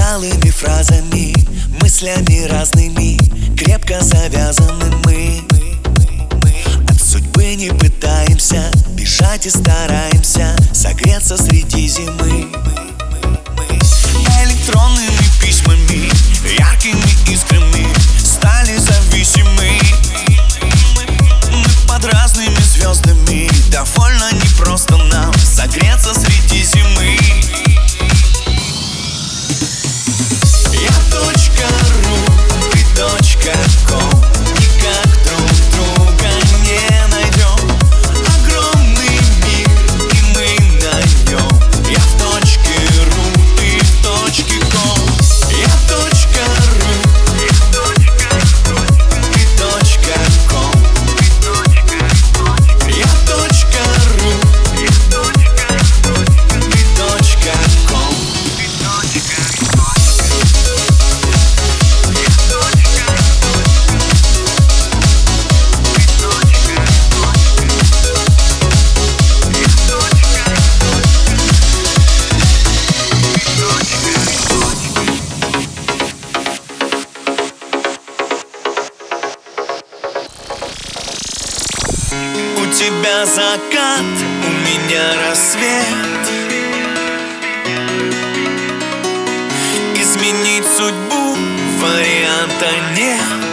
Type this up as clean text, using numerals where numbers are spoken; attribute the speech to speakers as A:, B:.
A: усталыми фразами, мыслями разными, крепко завязаны мы. От судьбы не пытаемся бежать и стараемся согреться среди зимы. Электронными письмами, яркими искрами стали зависимы. Мы под разными звездами, довольно непросто нам согреться среди зимы. Я .ру, ты .ком, никак друг друга не найдем. Огромный мир, и мы на нем. Я в .ру, ты в .ком. Я .ру, ты .ком. Я .ру, ты .ком. У тебя закат, у меня рассвет. Изменить судьбу варианта нет.